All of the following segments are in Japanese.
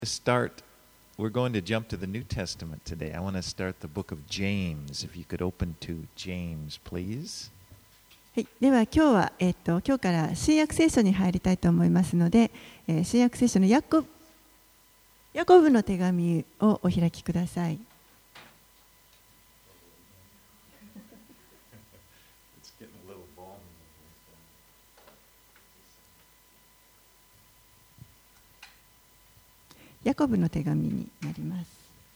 start, we're going to jump to the New Testament today. I want to start the book of James. If you could open to James, please. はい、では今日は、今日から新約聖書に入りたいと思いますので、新約聖書のヤコブの手紙をお開きください。ヤコブの手紙になります。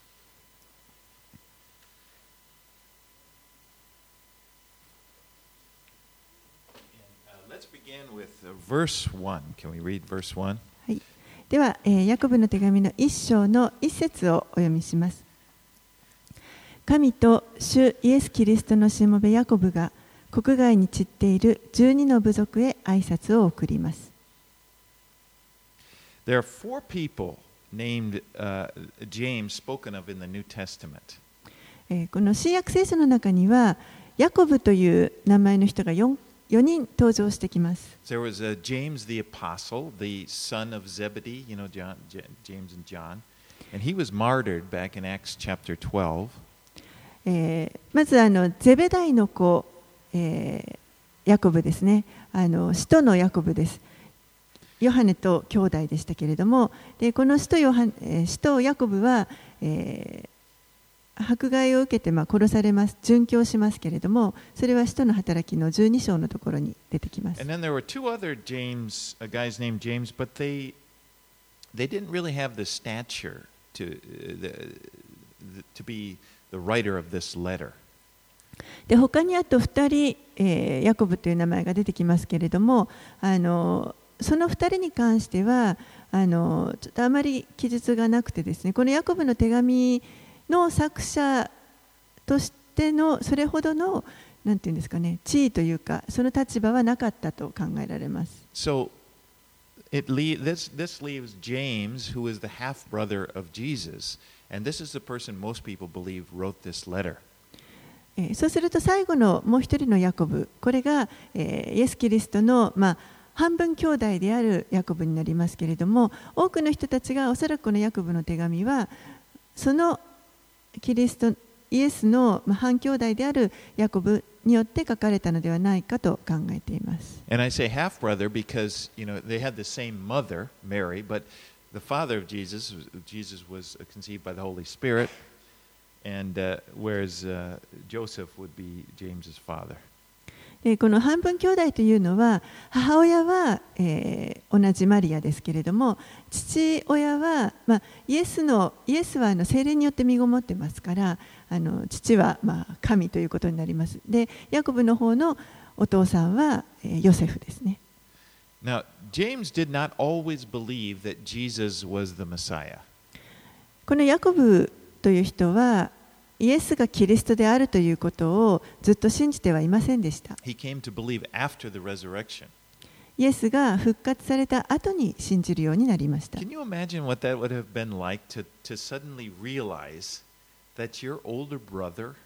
Let's begin with verse 1. Can we read verse 1? はい、では、ヤコブの手紙の1章の1節をお読みします。神と主イエス・キリストのしもべヤコブが国外に散っている12の部族へ挨拶を送ります。 There are four people named James spoken of in the New Testament. この新約聖書の中にはヤコブという名前の人が4人登場してきます。 There was James the Apostle, the son of Zebedee, you know, James and John, and he was martyred back in Acts chapter 12. まずゼベダイの子、ヤコブですね。使徒のヤコブです。ヨハネと兄弟でしたけれども、でこの使徒ヤコブは、迫害を受けて殺されます、殉教しますけれども、それは使徒の働きの12章のところに出てきます。 And then there were two other James, guys named James, but they didn't really have the stature to be the writer of this letter. で他にあと2人、ヤコブという名前が出てきますけれども、その2人に関してはちょっとあまり記述がなくてですね、このヤコブの手紙の作者としてのそれほどのなんていうんですかね、地位というかその立場はなかったと考えられます。 So this leaves James, who is the half brother of Jesus, and this is the person most people believe wrote this letter. そうすると最後のもう一人のヤコブ、これが、イエス・キリストの半分兄弟であるヤコブになりますけれども、多くの人たちがおそらくこのヤコブの手紙はそのイエスの半兄弟であるヤコブによって書かれたのではないかと考えています。 And I say half brother because they had the same mother, Mary, but the father of Jesus was conceived by the Holy Spirit, and whereas Joseph would be James's father. この半分兄弟というのは母親は、同じマリアですけれども、父親は、イエスは聖霊によって身ごもってますから、父は神ということになります。で、ヤコブの方のお父さんは、ヨセフですね。 Now, James did not always believe that Jesus was the Messiah. このヤコブという人はイエスがキリストであるということをずっと信じてはいませんでした。 He came to believe after the resurrection. イエスが復活された後に信じるようになりました。 Can you imagine what that would have been like to suddenly realize that your older brother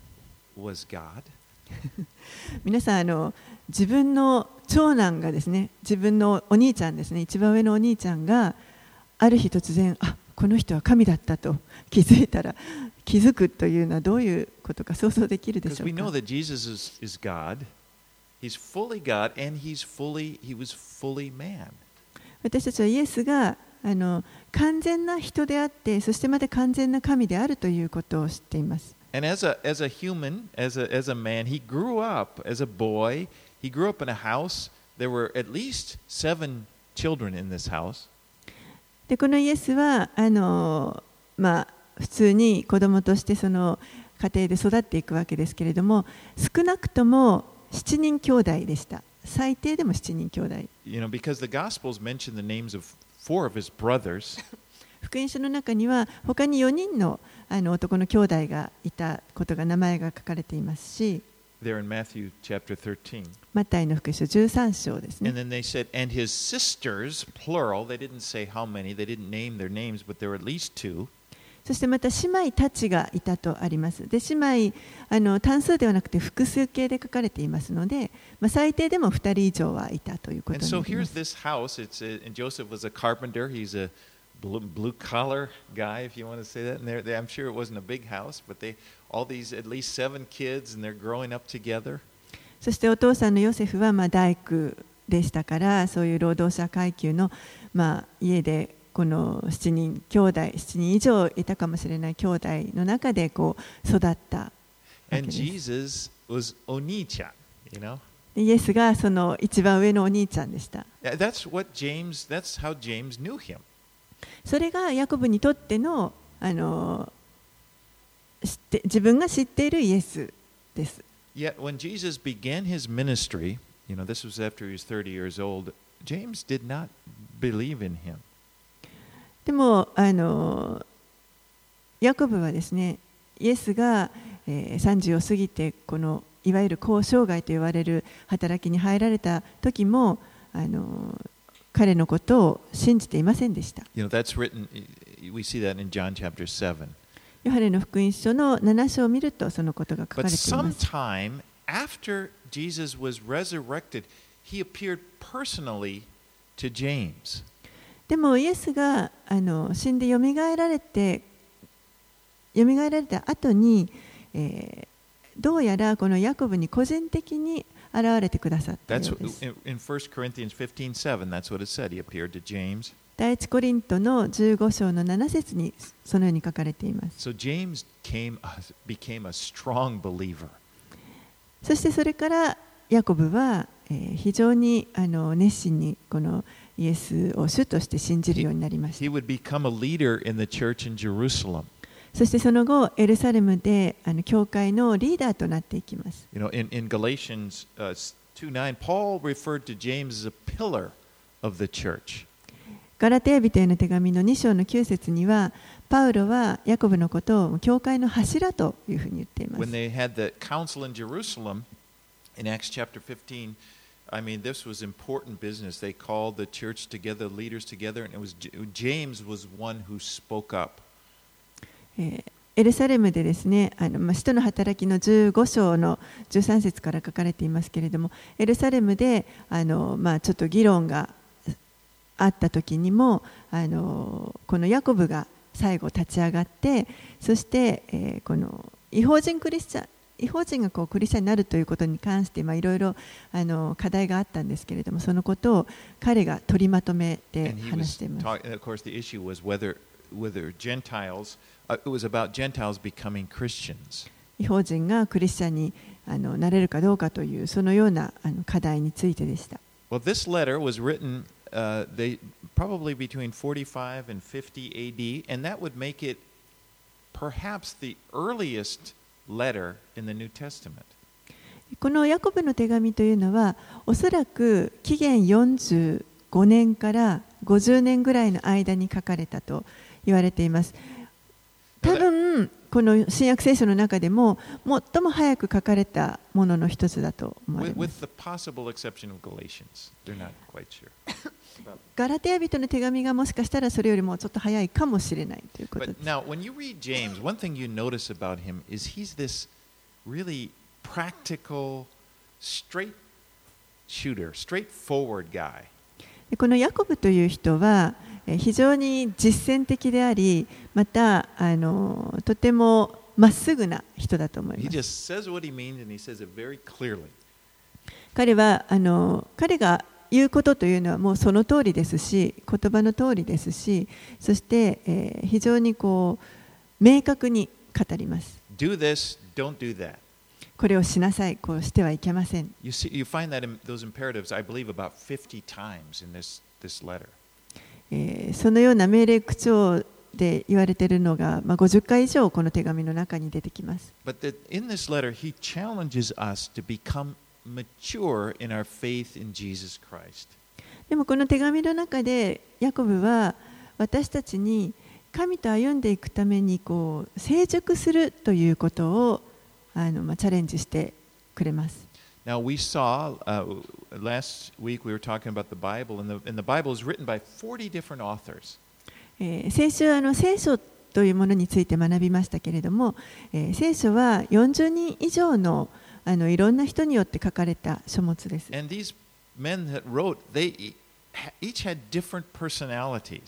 was God? 皆さん自分の長男がですね、自分のお兄ちゃんですね、一番上のお兄ちゃんがある日突然、この人は神だったと気づくというのはどういうことか想像できるでしょうか。 Because we know that Jesus is God. He's fully God and he was fully man. 私たちはイエスが完全な人であって、そしてまた完全な神であるということを知っています。 And as a human, as a man, he grew up as a boy. He grew up in a house. There were at least 7 children in this house. でこのイエスは普通に子供としてその家庭で育っていくわけですけれども、少なくとも7人兄弟でした。最低でも7人兄弟。 Because the Gospels mention the names of 4 of his brothers. 福音書の中には他に4人の男の兄弟がいたことが名前が書かれていますし、 There in Matthew chapter 13. マタイの福音書13章ですね。 And then they said, and his sisters, plural, they didn't say how many, they didn't name their names, but there were at least 2. そしてまた姉妹たちがいたとあります。で、姉妹単数ではなくて複数形で書かれていますので、最低でも2人以上はいたということになります。 And so here's this house. And Joseph was a carpenter. He's a blue collar guy, if you want to say that. And I'm sure it wasn't a big house, but all these at least 7 kids, and they're growing up together. そしてお父さんのヨセフは大工でしたから、そういう労働者階級の家でこの7人以上いたかもしれない兄弟の中でこう育ったわけです。 And Jesus was Oni-chan, you know? イエスがその一番上のお兄ちゃんでした。 That's how James knew him. それがヤコブにとっての、自分が知っているイエスです。 Yet when Jesus began his ministry, you know, this was after he was 30 years old, James did not believe in him. でもヤコブはですね、イエスが、30を過ぎてこのいわゆる交渉外と言われる働きに入られた時も彼のことを信じていませんでした。 You know, that's written, we see that in John chapter 7. ヨハネの福音書の7章を見るとそのことが書かれています。 But sometime after Jesus was resurrected, he appeared personally to James. でもイエスが死んでよみがえられた後に、どうやらこのヤコブに個人的に現れてくださったようです。 In 1 Corinthians 15:7, that's what it said. He appeared to James. 第一コリントの15章の7節にそのように書かれています。 So James became a strong believer. そしてそれからヤコブは非常に熱心にこのイエスを主として信じるようになりました。 He would become a leader in the church in Jerusalem. そしてその後エルサレムで教会のリーダーとなっていきます。 You know, in Galatians 2:9, Paul referred to James as a pillar of the church. ガラテヤ人への手紙の2章の9節には、パウロはヤコブのことを教会の柱というふうに言っています。 When they had the council in Jerusalem in Acts chapter 15, I mean, this was important business. They called the church together, leaders together, and James was one who spoke up. エルサレムでですね、使徒の働きの15章の13節から書かれていますけれども、エルサレムでちょっと議論があった時にもこのヤコブが最後立ち上がって、そして、この異邦人がこうクリスチャンになるということに関していろいろ課題があったんですけれども、そのことを彼が取りまとめて話しています。 Of course, the issue was whether Gentiles, it was about Gentiles becoming Christians. 異邦人がクリスチャンになれるかどうかというそのような課題についてでした。 Well, this letter was written probably between 45 and 50 AD, and that would make it perhaps the earliest letter in the New Testament. このヤコブの手紙というのは、おそらく紀元45年から50年ぐらいの間に書かれたと言われています。多分この新約聖書の中でも最も早く書かれたものの一つだと思います。 With the possible exception of Galatians, they're not quite sure. ガラテヤ人の手紙がもしかしたらそれよりもちょっと早いかもしれないということです。 But now, when you read James, one thing you notice about him is he's this really practical, straight shooter, straightforward guy. このヤコブという人は非常に実践的であり、またとてもまっすぐな人だと思います。 He just says what he means and he says it very clearly. 彼が言うことというのはもうその通りですし、言葉の通りですし、そして、非常にこう明確に語ります。 Do this, don't do that. これをしなさい、こうしてはいけません。 You find that in those imperatives, I believe, about 50 times in this letter. そのような命令口調で言われているのが、50回以上この手紙の中に出てきます。 But in this letter, he challenges us to become mature in our faith in Jesus Christ. でもこの手紙の中でヤコブは私たちに神と歩んでいくためにこう成熟するということをチャレンジしてくれます。 Now we saw last week we were talking about the Bible, and the Bible is written by 40 different authors. 先週聖書というものについて学びましたけれども、聖書は40人以上のいろんな人によって書かれた書物です。 And these men that wrote, they each had different personalities.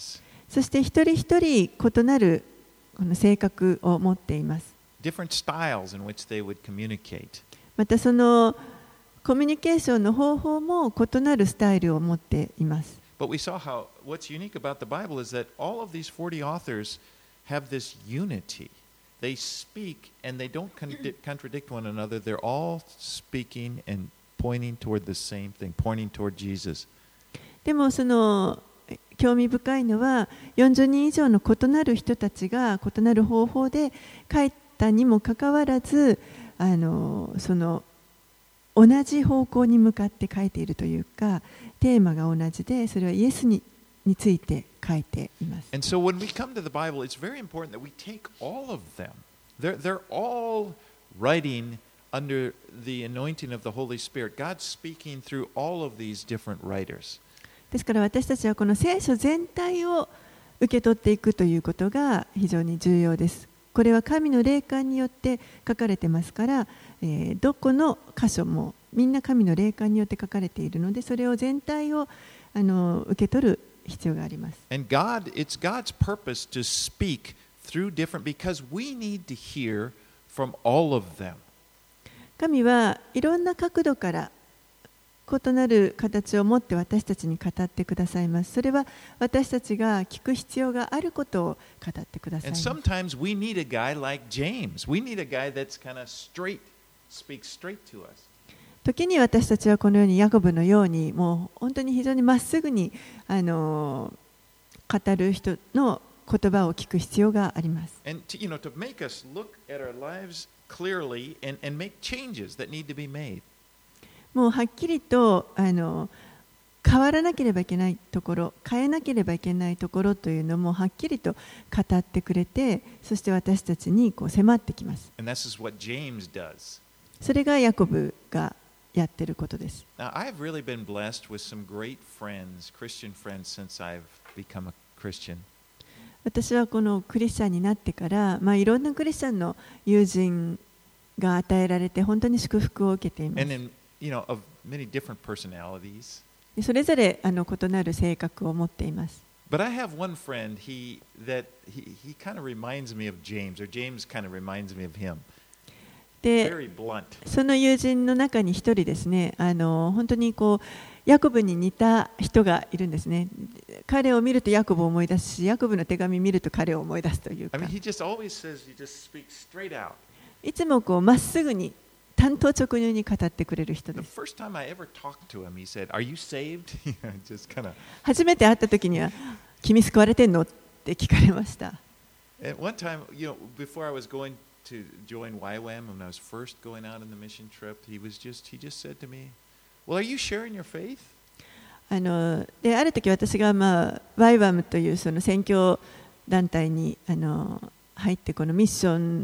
そして一人一人異なるこの性格を持っています。 different styles in which they would communicate. またそのコミュニケーションの方法も異なるスタイルを持っています。 But we saw how what's unique about the Bible is that all of these 40 authors have this unity. They speak and they don't contradict one another. They're all speaking and pointing toward the same thing, pointing toward Jesus. でもその興味深いのは40人以上の異なる人たちが異なる方法で書いたにもかかわらずその同じ方向に向かって書いているというかテーマが同じでそれはイエスについて書いています。 And so when we come to the Bible, it's very important that we take all of them. They're all writing under the anointing of the Holy Spirit. God's speaking through all of these different writers. ですから私たちはこの聖書全体を受け取っていくということが非常に重要です。これは神の霊感によって書かれてますから、どこの箇所もみんな神の霊感によって書かれているので、それを全体を受け取る必要があります。 And it's God's purpose to speak through different, because we need to hear from all of them. 神はいろんな角度から異なる形を持って私たちに語ってくださいます。それは私たちが聞く必要があることを語ってくださいます。 And sometimes we need a guy like James. We need a guy that's kind of straight, speaks straight to us. 時に私たちはこのようにヤコブのようにもう本当に非常にまっすぐに語る人の言葉を聞く必要があります。 And to make us look at our lives clearly and make changes that need to be made. もうはっきりと変わらなければいけないところ、変えなければいけないところというのもはっきりと語ってくれて、そして私たちにこう迫ってきます。 And this is what James does. それがヤコブがやっていることです。 Now, I've really been blessed with some great friends, Christian friends, since I've become a Christian. 私はこのクリスチャンになってから、いろんなクリスチャンの友人が与えられて本当に祝福を受けています。 Of many different personalities. それぞれ異なる性格を持っています。 But I have one friend, he kind of reminds me of James, or James kind of reminds me of him. で、 Very blunt. その友人の中に一人ですね、本当にこうヤコブに似た人がいるんですね。彼を見るとヤコブを思い出すし、ヤコブの手紙を見ると彼を思い出すというか。 I mean, he just always says, he just speaks straight out. いつもこうまっすぐに単刀直入に語ってくれる人で The す。 first time I ever talked to him, he said, "Are you saved?" Just kind of. 初めて会った時には、君救われてんのって聞かれました。 And one time, before I was going to join YWAM, when I was first going out on the mission trip, he just said to me, "Well, are you sharing your faith?" である時私がYWAM というその宣教団体に入ってこのミッション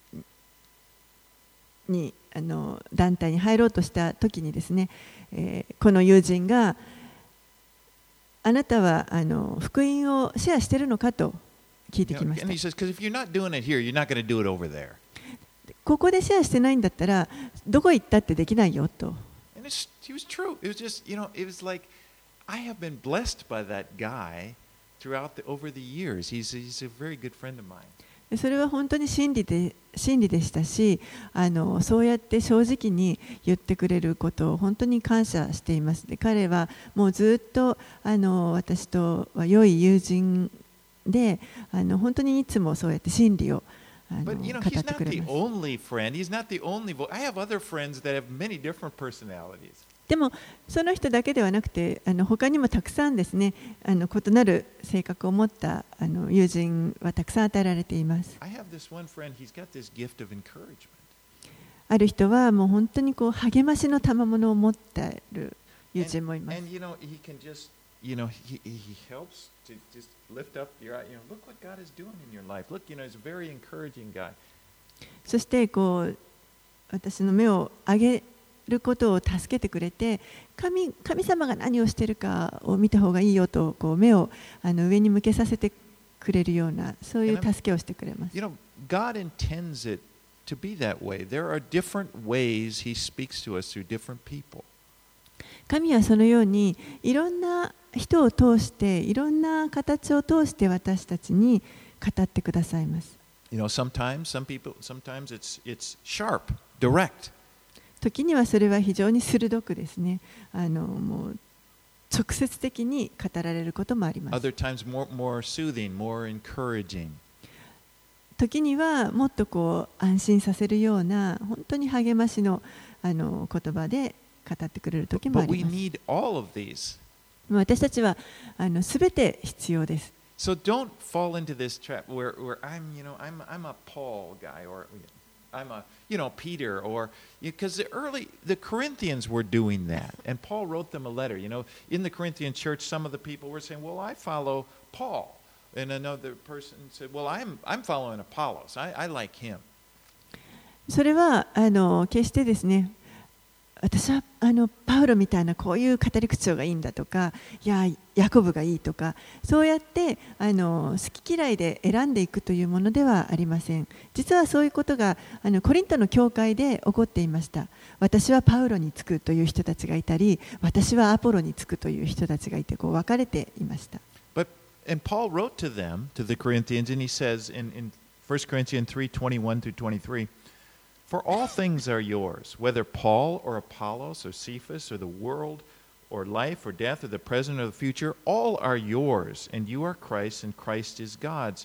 に団体に入ろうとした時にですね、この友人があなたは福音をシェアしているのかと聞いてきました。 And he says, "Because if you're not doing it here, you're not going to do it over there." ここでシェアしてないんだったらどこ行ったってできないよと。 And he was true. It was just, it was like I have been blessed by that guy over the years. He's a very good friend of mine. それは本当に真理でしたし、そうやって正直に言ってくれることを本当に感謝しています。で、彼はもうずっと私とは良い友人で、本当にいつもそうやって真理を語 But ってくれ he's ます。 not the only friend. He's not the only. I have other friends that have many different personalities. でもその人だけではなくて他にもたくさんですね異なる性格を持った友人はたくさん与えられています。 I have this one friend. He's got this gift of encouragement. ある人はもう本当にこう励ましの賜物を持っている友人もいます。 And he can just, he helps to just lift up your eye. Look what God is doing in your life. Look, he's a very encouraging guy. そしてこう私の目を上げることを助けてくれて、神様が何をしているかを見た方がいいよとこう目を上に向けさせてくれるようなそういう助けをしてくれます。 God intends it to be that way. There are different ways He speaks to us through different people. 神はそのようにいろんな人を通していろんな形を通して私たちに語ってくださいます。 You know, sometimes it's sharp, direct. 時にはそれは非常に鋭くですね、もう直接的に語られることもあります。 Other times more soothing, more encouraging. 時にはもっとこう安心させるような本当に励ましの言葉で語ってくれる時もあ But り we ます。 need all of these. 私たちはすべて必要です。 So don't fall into this trap where I'm a Paul guy, or I'm a Peter, or because the Corinthians were doing that, and Paul wrote them a letter. In the Corinthian church, some of the people were saying, "Well, I follow Paul," and another person said, "Well, I'm following Apollos. I like him." それは決してですね、私はパウロみたいなこういう語り口調がいいんだとか、いやヤコブがいいとか、そうやって好き嫌いで選んでいくというものではありません。実はそういうことがコリントの教会で起こっていました。私はパウロにつくという人たちがいたり、私はアポロにつくという人たちがいて、こう分かれていました。 And Paul wrote to them, to the Corinthians, and he says in 1 Corinthians 3:21 through 23, "For all things are yours, whether Paul or Apollos or Cephas or the world or life or death or the present or the future, all are yours, and you are Christ, and Christ is God's."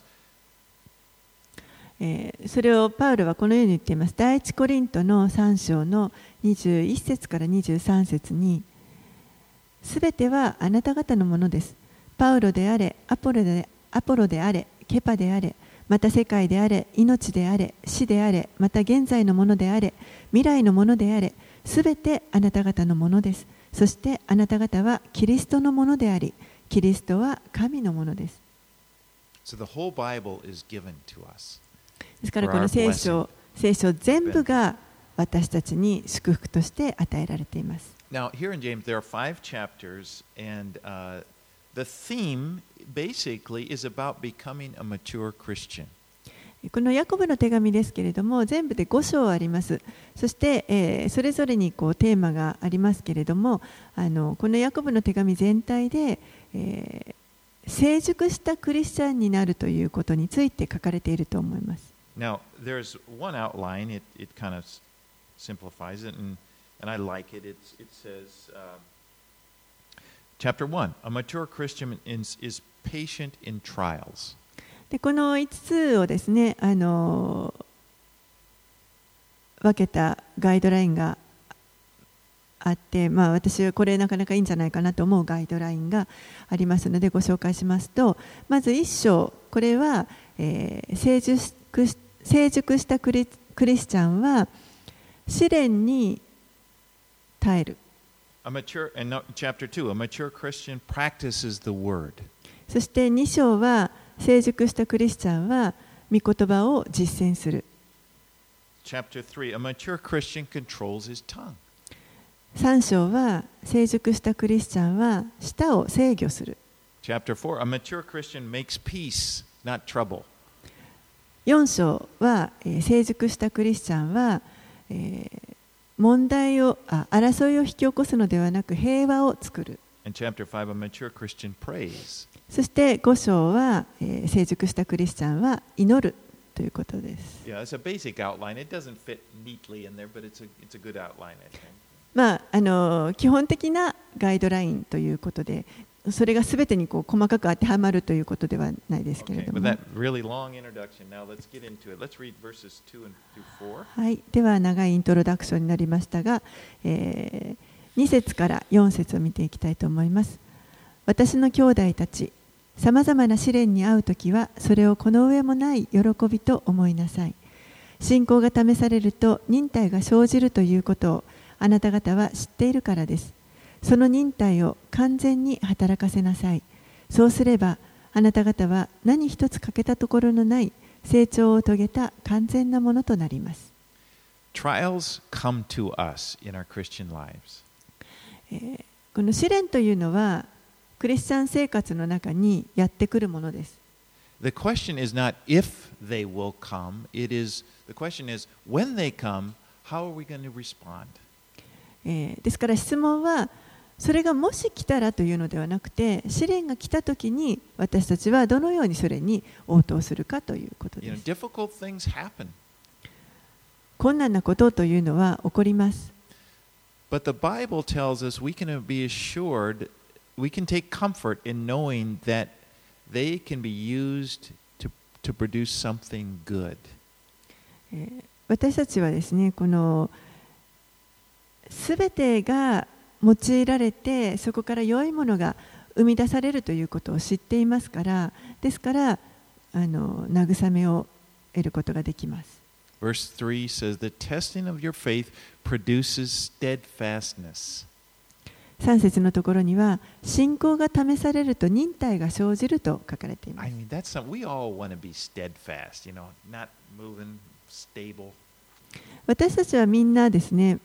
それをパウロはこのように言っています。第一コリントの3章の21節から23節に、すべてはあなた方のものです。パウロであれ、アポロであれ、ケパであれ、また世界であれ、命であれ、死であれ、また現在のものであれ、未来のものであれ、すべてあなた方のものです。そしてあなた方はキリストのものであり、キリストは神のものです。 So the whole Bible is given to us. ですからこの聖書全部が私たちに祝福として与えられています。 Now, here in James, there are 5 chapters, and the theme basically is about becoming a mature Christian. このヤコブの手紙ですけれども、全部で5章あります。そして、それぞれにこうテーマがありますけれども、このヤコブの手紙全体で、成熟したクリスチャンになるということについて書かれていると思います。 Now, there's one outline, it kind of simplifies it, and I like it. It says, Chapter 1, a mature Christian is patient in trials. でこの5つをですね、分けたガイドラインがあって、私はこれなかなかいいんじゃないかなと思うガイドラインがありますのでご紹介しますと、まず1章、これは、成熟したクリスチャンは試練に耐える。 Chapter 2, a mature Christian practices the word. そして2章は成熟したクリスチャンは御言葉を実践する。 Chapter 3, a mature Christian controls his tongue. 3章は成熟したクリスチャンは舌を制御する。 Chapter 4, a mature Christian makes peace, not trouble. 4章は成熟したクリスチャンは争いを引き起こすのではなく平和を作る。 And chapter 5, a mature Christian prays. そして5章は成熟したクリスチャンは祈るということです。 Yeah, it's a basic outline. It doesn't fit neatly in there, but it's a good outline, I think. 基本的なガイドラインということで、それがすべてにこう細かく当てはまるということではないですけれども。 Okay, with that really long introduction, now let's get into it. Let's read verses 2 through 4. はい、では長いイントロダクションになりましたが、2節から4節を見ていきたいと思います。私の兄弟たち、さまざまな試練に遭うときは、それをこの上もない喜びと思いなさい。信仰が試されると忍耐が生じるということをあなた方は知っているからです。その忍耐を完全に働かせなさい。そうすれば、あなた方は何一つ欠けたところのない成長を遂げた完全なものとなります。 Trials come to us in our Christian lives. この試練というのは、クリスチャン生活の中にやってくるものです。 The question is not if they will come, the question is when they come, how are we going to respond? ですから質問はそれがもし来たらというのではなくて、試練が来たときに私たちはどのようにそれに応答するかということです。 difficult things happen. 困難なことというのは起こります。 But the Bible tells us we can be assured, we can take comfort in knowing that they can be used to produce something good. 私たちはですね、このすべてが用いられて、そこから良いものが生み出されるということを知っていますから、ですから慰めを得ることができます。 Verse 3 says, The testing of your faith produces steadfastness. 3節のところには、信仰が試されると忍耐が生じると書かれています。 I mean, that's something we all want to be steadfast, not moving, stable. 私たちはみんなですね、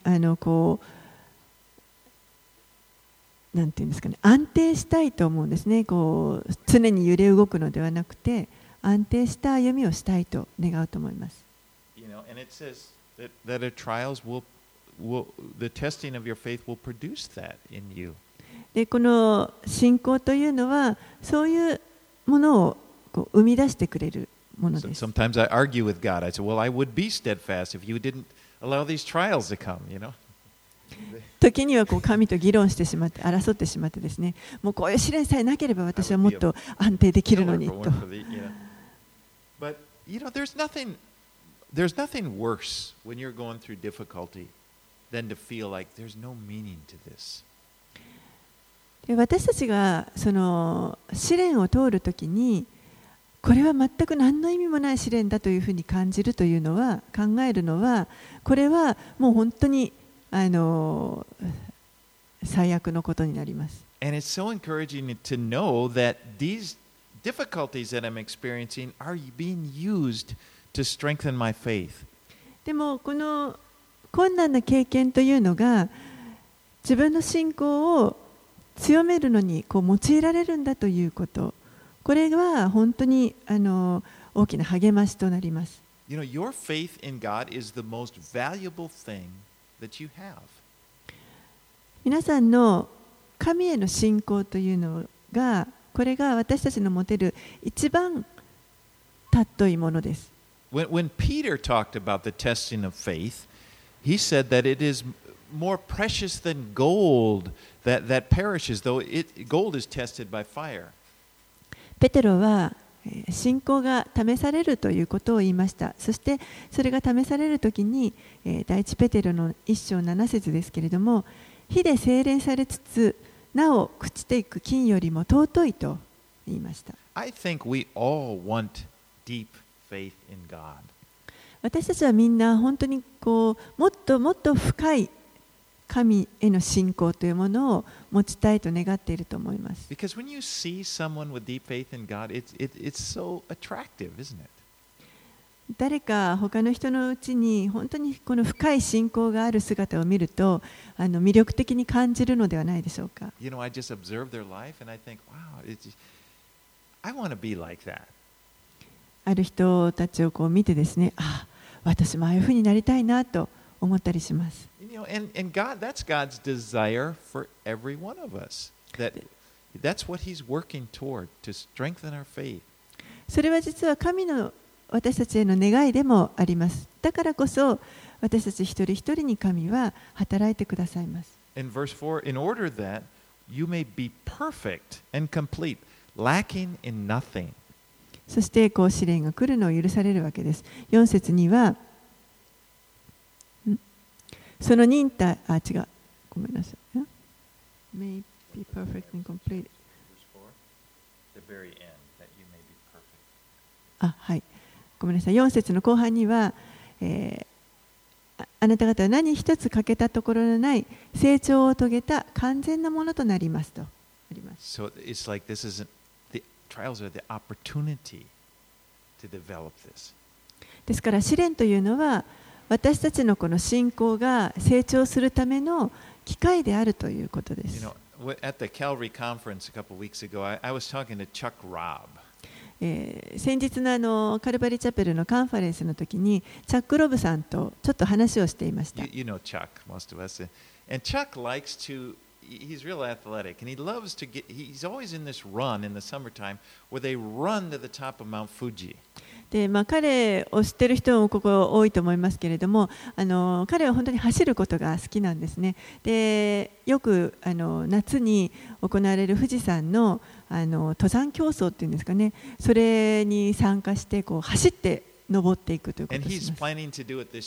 なんていうんですかね、安定したいと思うんですね。常に揺れ動くのではなくて、安定した歩みをしたいと願うと思います。 And it says that the trials the testing of your faith will produce that in you. で、この信仰というのは、そういうものを生み出してくれるものです。 Sometimes I argue with God. I say, well, I would be steadfast if you didn't allow these trials to come, 時には神と議論してしまって、争ってしまってですね、もうこういう試練さえなければ私はもっと安定できるのにと。 But there's nothing worse when you're going through difficulty than to feel like there's no meaning to this. 私たちがその試練を通るときに、これは全く何の意味もない試練だというふうに感じるというのは、考えるのは、これはもう本当に最悪のことになります。 And it's so encouraging to know that these difficulties that I'm experiencing are being used to strengthen my faith. でもこの困難な経験というのが自分の信仰を強めるのに用いられるんだということ、これは本当に大きな励ましとなります。 Your faith in God is the most valuable thing that you have. 皆さんの神への信仰というのが、これが私たちの持てる一番尊いものです。 When Peter talked about the testing of faith, he said that it is more precious than gold that perishes, though gold is tested by fire. ペテロは信仰が試されるということを言いました。そしてそれが試されるときに、第一ペテロの1章7節ですけれども、火で精錬されつつなお朽ちていく金よりも尊いと言いました。 I think we all want deep faith in God. 私たちはみんな本当にもっともっと深い神への信仰というものを持ちたいと願っていると思います。 Because when you see someone with deep faith in God, it's so attractive, isn't it? 誰か他の人のうちに本当にこの深い信仰がある姿を見ると魅力的に感じるのではないでしょうか。 I just observe their life and I think, wow, I want to be like that. ある人たちを見てですね、私もああいうふうになりたいなと思ったりします。 And God, that's God's desire for every one of us. That's what He's working toward, to strengthen our faith. それは実は神の私たちへの願いでもあります。だからこそ私たち一人一人に神は働いてくださいます。 In verse 4, in order that you may be perfect and complete, lacking in nothing. そして試練が来るのを許されるわけです。4節にはその忍耐、ごめんなさい。May be perfect and complete. はい。ごめんなさい。4節の後半には、あなた方は何一つ欠けたところのない成長を遂げた完全なものとなりますとあります。 So it's like the trials are the opportunity to develop this. ですから試練というのは私たちのこの信仰が成長するための機会であるということです。 At the Calvary conference a couple of weeks ago, I was talking to Chuck Robb. 先日のカルバリーチャペルのカンファレンスの時にチャック・ロブさんとちょっと話をしていました。 You know Chuck, most of us. And Chuck likes to he's real athletic, and he loves to he's always in this run in the summertime where they run to the top of Mount Fuji. で彼を知っている人もここ多いと思いますけれども、彼は本当に走ることが好きなんですね。でよく夏に行われる富士山の登山競争っていうんですかね、それに参加してこう走って登っていくということをします。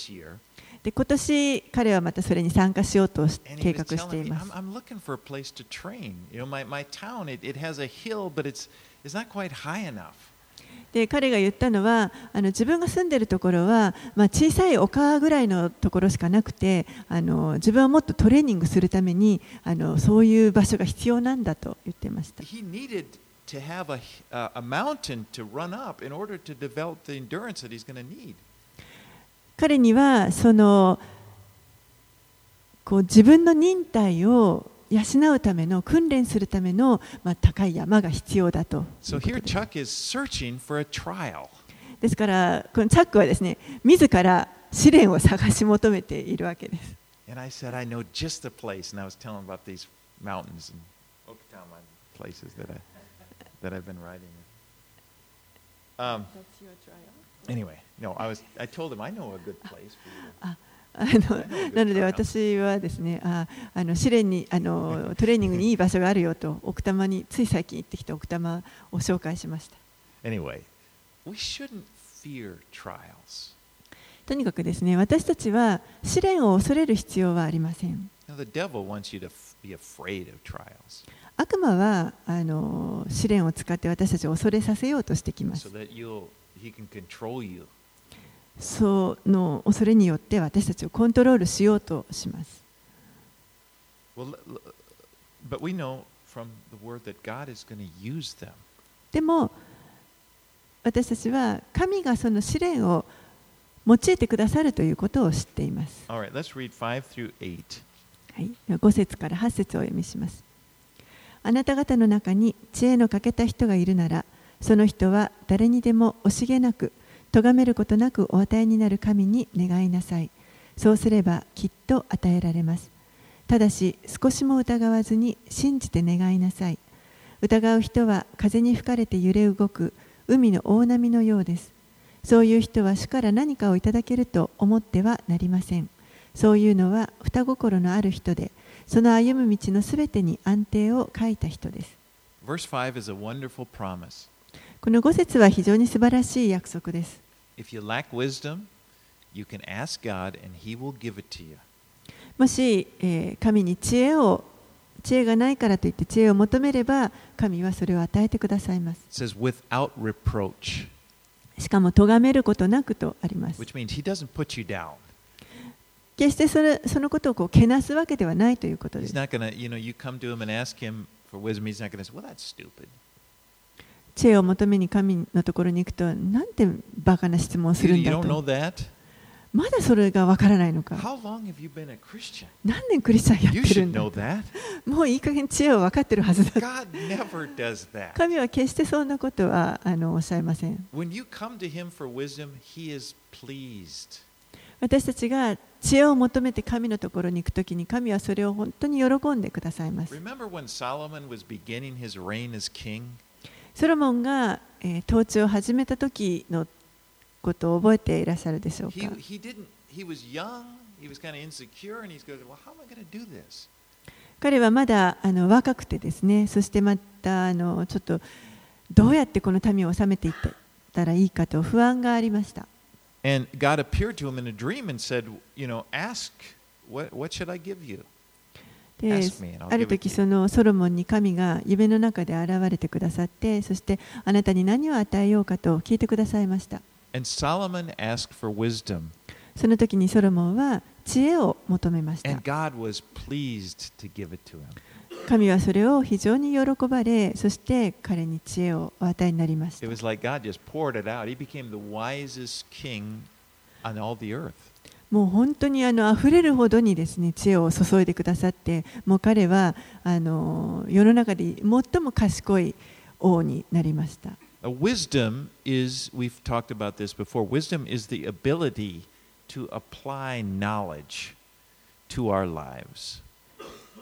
で今年彼はまたそれに参加しようと計画しています。 I'm looking for a place to train. My town it has a hill, but it's not quite high enough. で彼が言ったのは自分が住んでいるところは、小さい丘ぐらいのところしかなくて自分はもっとトレーニングするためにそういう場所が必要なんだと言っていました。 He needed to have a mountain to run up in order to develop the endurance that he's going to need. 彼にはこう自分の忍耐を養うための訓練するための、高い山が必要だと。 So here Chuck is searching for a trial. ですからこのチャックはですね、自ら試練を探し求めているわけです。 And I said, I know just the place, and I was telling about these mountains and Okinawa places that I've been riding. That's your trial. Anyway, no, I told him I know a good place for you. なので私はですね、試練にトレーニングにいい場所があるよと奥多摩につい最近行ってきた奥多摩を紹介しました。 Anyway, we shouldn't fear trials. とにかくですね、私たちは試練を恐れる必要はありません。 Now, the devil wants you to be afraid of trials. 悪魔は試練を使って私たちを恐れさせようとしてきます。 So that he can control you. その恐れによって私たちをコントロールしようとします。でも私たちは神がその試練を用いてくださるということを知っています。 Right, はい、5節から8節をお読みします。あなた方の中に知恵の欠けた人がいるなら、その人は誰にでも惜しげなく咎めることなくお与えになる神に願いなさい。そうすればきっと与えられます。ただし少しも疑わずに信じて願いなさい。疑う人は風に吹かれて揺れ動く海の大波のようです。そういう人は主から何かをいただけると思ってはなりません。そういうのは双心のある人で、その歩む道のすべてに安定を書いた人です。 Verse 5 is a wonderful promise. この5節は非常に素晴らしい約束です。 If you lack wisdom, you can ask God and He will give it to you. もし、神に知恵がないからといって知恵を求めれば、神はそれを与えてくださいます。 It says without reproach. しかも咎めることなくとあります。 Which means He doesn't put you down. 決してそのことをけなすわけではないということです。 He's not going to, you come to Him and ask Him for wisdom. He's not going to say, well, that's stupid. 知恵を求めに神のところに行くと、なんてバカな質問をするんだと。まだそれがわからないのか。何年クリスチャンやってるんだ。もういい加減知恵を分かってるはずだ。神は決してそんなことはおっしゃいません。私たちが知恵を求めて神のところに行くときに、神はそれを本当に喜んでくださいます。ソロモンが統治を始めた時のことを覚えていらっしゃるでしょうか。彼はまだ若くてですね、そしてまたちょっとどうやってこの民を治めていったらいいかと不安がありました。 And God appeared to him in a dream and said, ask, what should I give you? ある時そのソロモンに神が夢の中で現れてくださって、そしてあなたに何を与えようかと聞いてくださいました。 And Solomon asked for wisdom. その時にソロモンは知恵を求めました。 And God was pleased to give it to him. 神はそれを非常に喜ばれ、そして彼に知恵をお与えになりました。 It was like God just poured it out. He became the wisest king on all the earth. もう本当に溢れるほどにですね、知恵を注いでくださって、もう彼は世の中で最も賢い王になりました。 Wisdom is, we've talked about this before, wisdom is the ability to apply knowledge to our lives.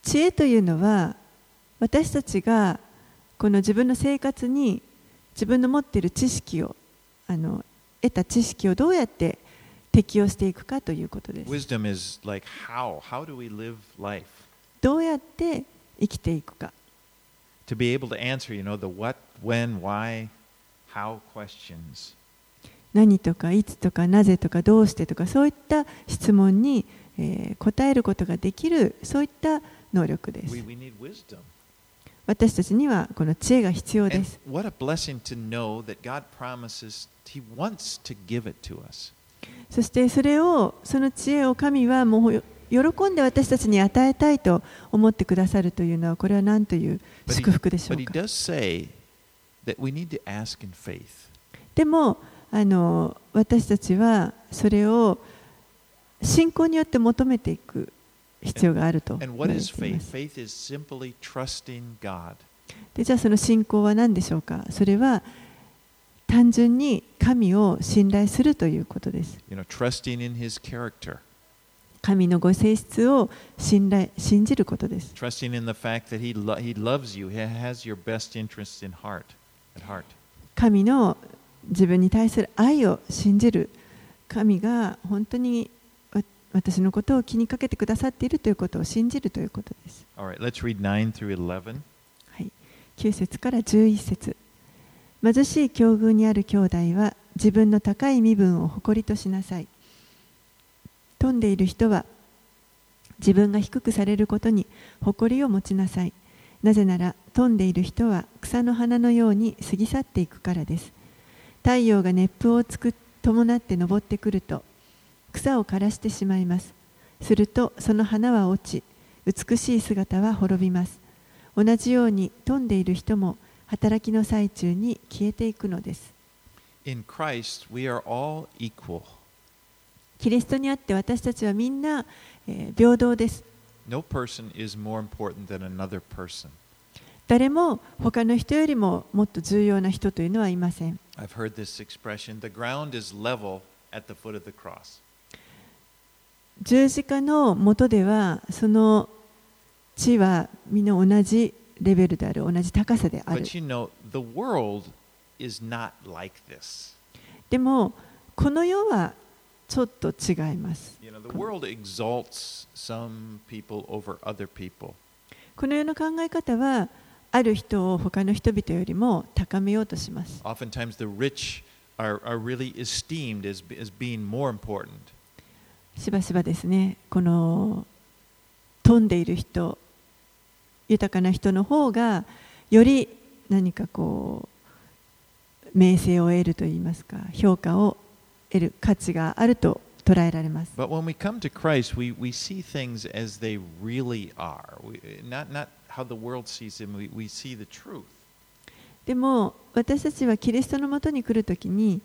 知恵というのは私たちがこの自分の生活に自分の持っている知識を得た知識をどうやって適用していくかということです。 Wisdom is like how do we live life? どうやって生きていくか。 To be able to answer, the what, when, why, how questions. 何とかいつとかなぜとかどうしてとかそういった質問に、答えることができるそういった能力です。 We need wisdom. 私たちにはこの知恵が必要で And す。 what a blessing to know that God promises He wants to give it to us. そしてその知恵を神はもう喜んで私たちに与えたいと思ってくださるというのはこれは何という祝福でしょ But う He か。 does say that we need to ask in faith. でも私たちはそれを信仰によって求めていく必要があると And 言わ what れ is ていま faith? す。 Faith is simply trusting God. でじゃあその信仰は何でしょうか。それは単純に神を信頼するということです。 Trusting in His character. 神のご性質を信じることです。 Trusting in the fact that He loves you. He has your best interests at heart. 神の自分に対する愛を信じる。神が本当に私のことを気にかけてくださっているということを信じるということです。 All right, let's read 9 through 11. はい、9節から11節。貧しい境遇にある兄弟は自分の高い身分を誇りとしなさい。富んでいる人は自分が低くされることに誇りを持ちなさい。なぜなら富んでいる人は草の花のように過ぎ去っていくからです。太陽が熱風を伴って昇ってくると草を枯らしてしまいます。するとその花は落ち、美しい姿は滅びます。同じように富んでいる人も働きの最中に消えていくのです。 In Christ, we are all equal. キリストにあって私たちはみんな、平等です。 No person is more important than another person. 誰も他の人よりももっと重要な人というのはいません。 I've heard this expression, the ground is level at the foot of the cross. 十字架の下ではその地はみんな同じレベルである、同じ高さである。 But the world is not like this. でもこの世はちょっと違います。 The world exalts some people over other people. この世の考え方はある人を他の人々よりも高めようとします。 Oftentimes the rich are really esteemed as being more important. しばしばですね、この富んでいる人、豊かな人の方がより何か名声を得るといいますか、評価を得る価値があると捉えられます。 But when we come to Christ, we see things as they really are. Not how the world sees them. We see the truth. でも私たちはキリストのもとに来るときに、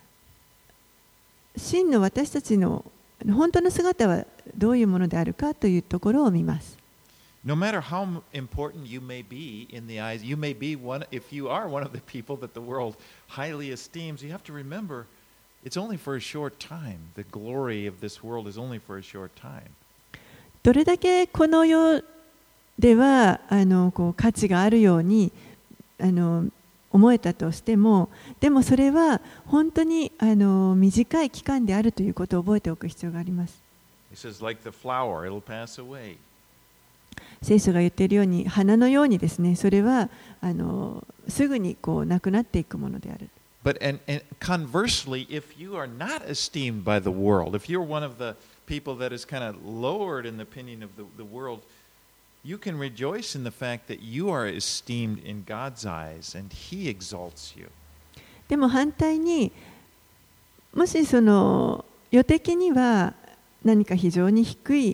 真の私たちの本当の姿はどういうものであるかというところを見ます。 No matter how important you may be in the eyes, you may be one, if you are one of the people that the world highly esteems, you have to remember it's only for a short time. The glory of this world is only for a short time. どれだけこの世では価値があるように思えたとしても、でもそれは本当に短い期間であるということを覚えておく必要があります。 He says, like the flower, it'll pass away. 聖書が言っているように花のようにですね、それはすぐになくなっていくものである。 But and conversely, if you are not esteemed by the world, if you're one of the people that is kind of lowered in the opinion of the world, you can rejoice in the fact that you are esteemed in God's eyes and He exalts you. でも反対に、もしその世的には何か非常に低い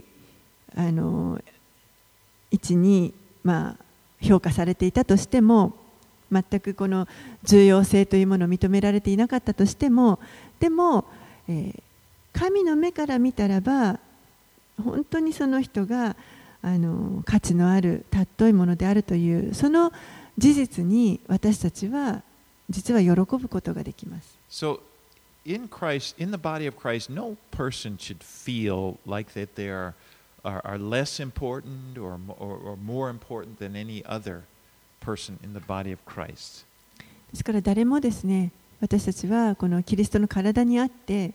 位置に評価されていたとしても、全くこの重要性というものを認められていなかったとしても、でも、神の目から見たらば本当にその人が価値のある尊いものであるというその事実に私たちは実は喜ぶことができます。 So in Christ, in the body of Christ, no person should feel like that they are are less important or more important than any other person in the body of Christ. ですから誰もですね、私たちはこのキリストの体にあって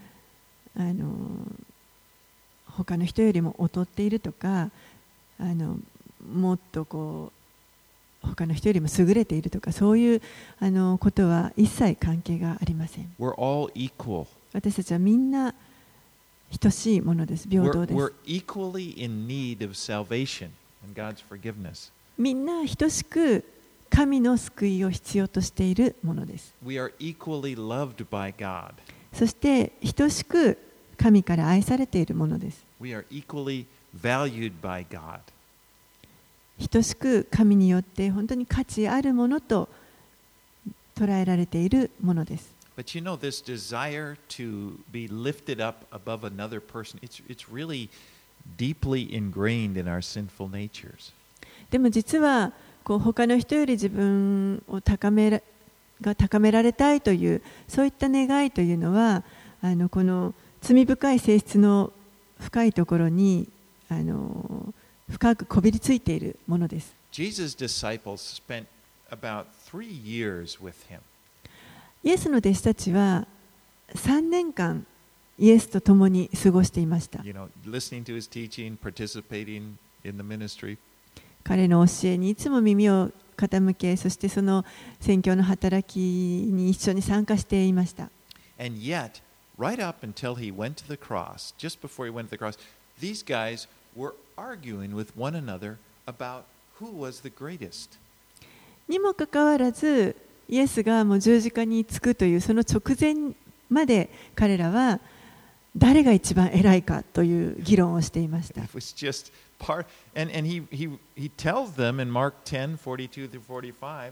他の人よりも劣っているとかもっと他の人よりも優れているとかそういうことは一切関係がありません。 We're all equal. 私たちはみんな等しいものです。平等です。 We're equally in need of salvation and God's forgiveness. みんな等しく神の救いを必要としているものです。 We are equally loved by God. そして等しく神から愛されているものです。 We are equally valued by God. 等しく神によって本当に価値あるものと捉えられているものです。 But you know, this desire to be lifted up above another person, it's really deeply ingrained in our sinful natures. でも実は他の人より自分を高められたいというそういった願いというのはこの罪深い性質の深いところに深くこびりついているものです。 Jesus' disciples spent about 3 years with him. イエスの弟子たちは3年間イエスと共に過ごしていました。 You know, listening to his teaching, participating in the ministry. 彼の教えにいつも耳を傾け、そしてその宣教の働きに一緒に参加していました。 And yet, right up until he went to the cross, just before he went to the cross, these guys were arguing with one another about who was the greatest. にもかかわらず、イエスがもう十字架につくというその直前まで彼らは誰が一番偉いかという議論をしていました。 It was just part, and he tells them in Mark 10:42 through 45.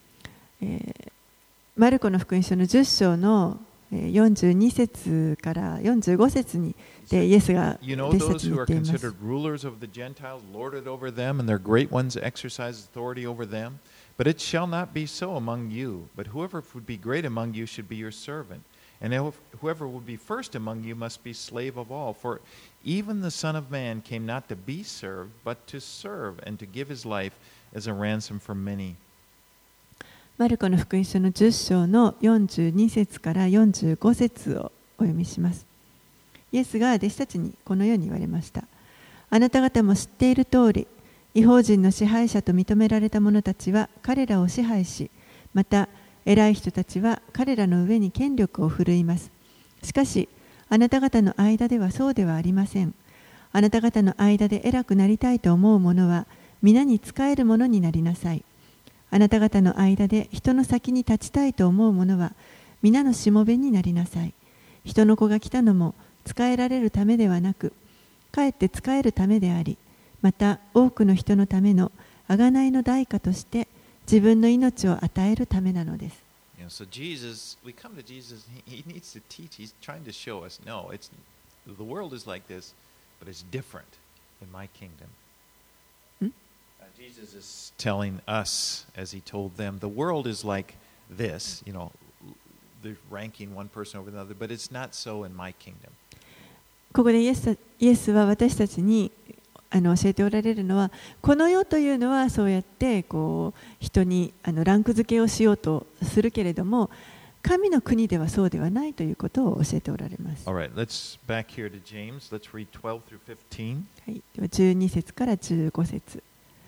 マルコの福音書の10章の42節から45節にでイエスが弟子たちに言っています。 You know those who are considered rulers of the Gentiles lord it over them, and their great ones exercise authority over them. But it shall not be so among you. But whoever would be great among you should be your servant. And whoever would be first among you must be slave of all. For even the Son of Man came not to be served, but to serve and to give his life as a ransom for many. マルコの福音書の10章の42節から45節をお読みします。イエスが弟子たちにこのように言われました。あなた方も知っている通り、異邦人の支配者と認められた者たちは彼らを支配し、また偉い人たちは彼らの上に権力を振るいます。しかし、あなた方の間ではそうではありません。あなた方の間で偉くなりたいと思う者は、皆に仕える者になりなさい。あなた方の間で人の先に立ちたいと思う者は、皆のしもべになりなさい。人の子が来たのも仕えられるためではなく、かえって仕えるためであり、また多くの人のための贖いの代価として自分の命を与えるためなのです。 So Jesus, we come to Jesus, he needs to teach, he's trying to show us, no, the world is like this, but it's different in my kingdom. Jesus is telling us, as he told them, the world is like this, you know, they're ranking one person over another, but it's not so in my kingdom. ここでイエスは私たちに教えておられるのは、この世というのはそうやって人にランク付けをしようとするけれども、神の国ではそうではないということを教えておられます。 Alright, let's back here to James. Let's read 12 through 15. はい、では12節から15節。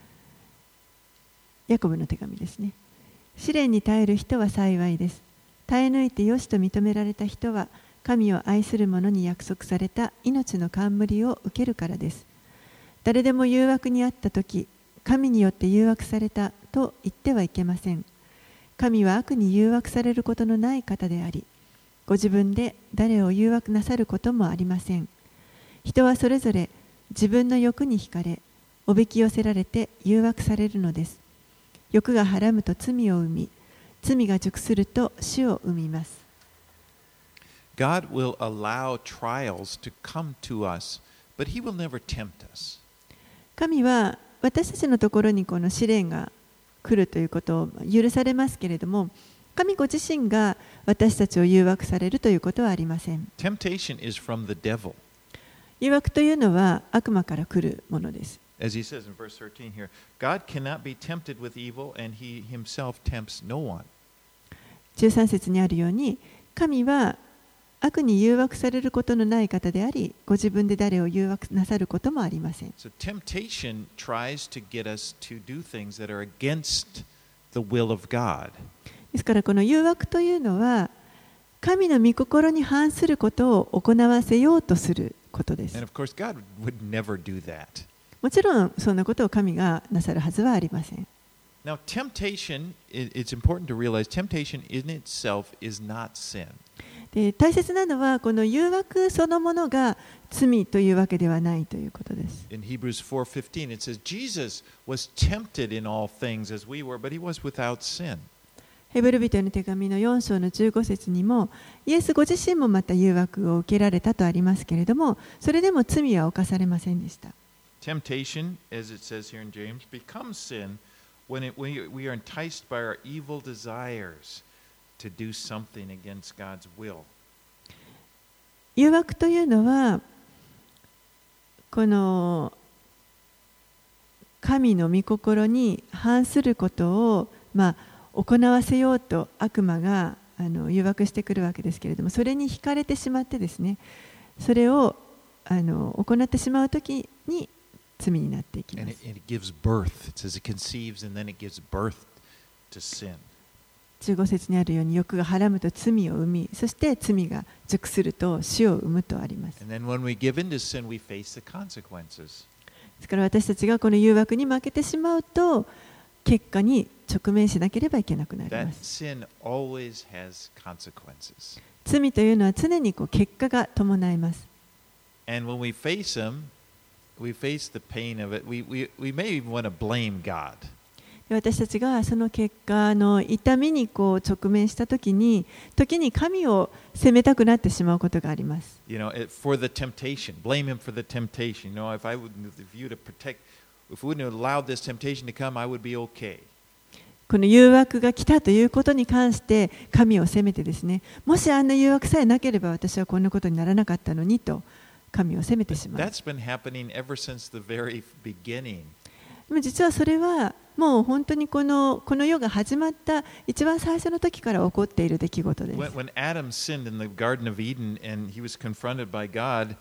ヤコブの手紙ですね。試練に耐える人は幸いです。耐え抜いてよしと認められた人は、神を愛する者に約束された命の冠を受けるからです。誰でも誘惑にあったとき、神によって誘惑されたと言ってはいけません。神は悪に誘惑されることのない方であり、ご自分で誰を誘惑なさることもありません。人はそれぞれ自分の欲に惹かれ、おびき寄せられて誘惑されるのです。欲がはらむと罪を生み、罪が熟すると死を生みます。 God will allow trials to come to us, but He will never tempt us. 神は私たちのところにこの試練が来るということを許されますけれども、神ご自身が私たちを誘惑されるということはありません。 Temptation is from the devil. 誘惑というのは悪魔から来るものです。 As he says in verse 13 here, God cannot be tempted with evil, and he himself tempts no one. 13節にあるように、神は悪に誘惑されることのない方であり、ご自分で誰を誘惑なさることもありません。 So temptation tries to get us to do things that are against the will of God. ですからこの誘惑というのは、神の御心に反することを行わせようとすることです。 And of course, God would never do that. もちろんそんなことを神がなさるはずはありません。 Now, temptation, it's important to realize temptation in itself is not sin. で、大切なのはこの誘惑そのものが罪というわけではないということです。 In Hebrews 4:15, it says, Jesus was tempted in all things as we were, but he was without sin. ヘブル人への手紙の4章の15節にも、イエスご自身もまた誘惑を受けられたとありますけれども、それでも罪は犯されませんでした。 Temptation, as it says here in James, becomes sin when we are enticed by our evil desires to do something against God's will. 誘惑というのは、この神の御心に反することを、行わせようと悪魔が誘惑してくるわけですけれども、それに惹かれてしまってですね、それを行ってしまうときに罪になっていきます。 And it gives birth. It says it conceives and then it gives birth to sin. 15節にあるように、欲がはらむと罪を生み、そして罪が熟すると死を生むとあります。 And then when we give in to sin, we face the consequences. ですから私たちがこの誘惑に負けてしまうと、結果に直面しなければいけなくなりま That す。 sin always has consequences. 罪というのは常に結果が伴います。 And when we face them, we face the pain of it. We may even want to blame God. で、私たちがその結果の痛みに直面したときに、時に神を責めたくなってしまうことがあります。 You know, for the temptation, blame him for the temptation. You know, if we wouldn't have allowed this temptation to come, I would be okay. この誘惑が来たということに関して神を責めてですね、もしあんな誘惑さえなければ私はこんなことにならなかったのにと神を責めてしまう。 That's been happening ever since the very beginning. でも実はそれはもう本当にこの世が始まった一番最初の時から起こっている出来事です。 When Adam sinned in the Garden of Eden and he was confronted by God,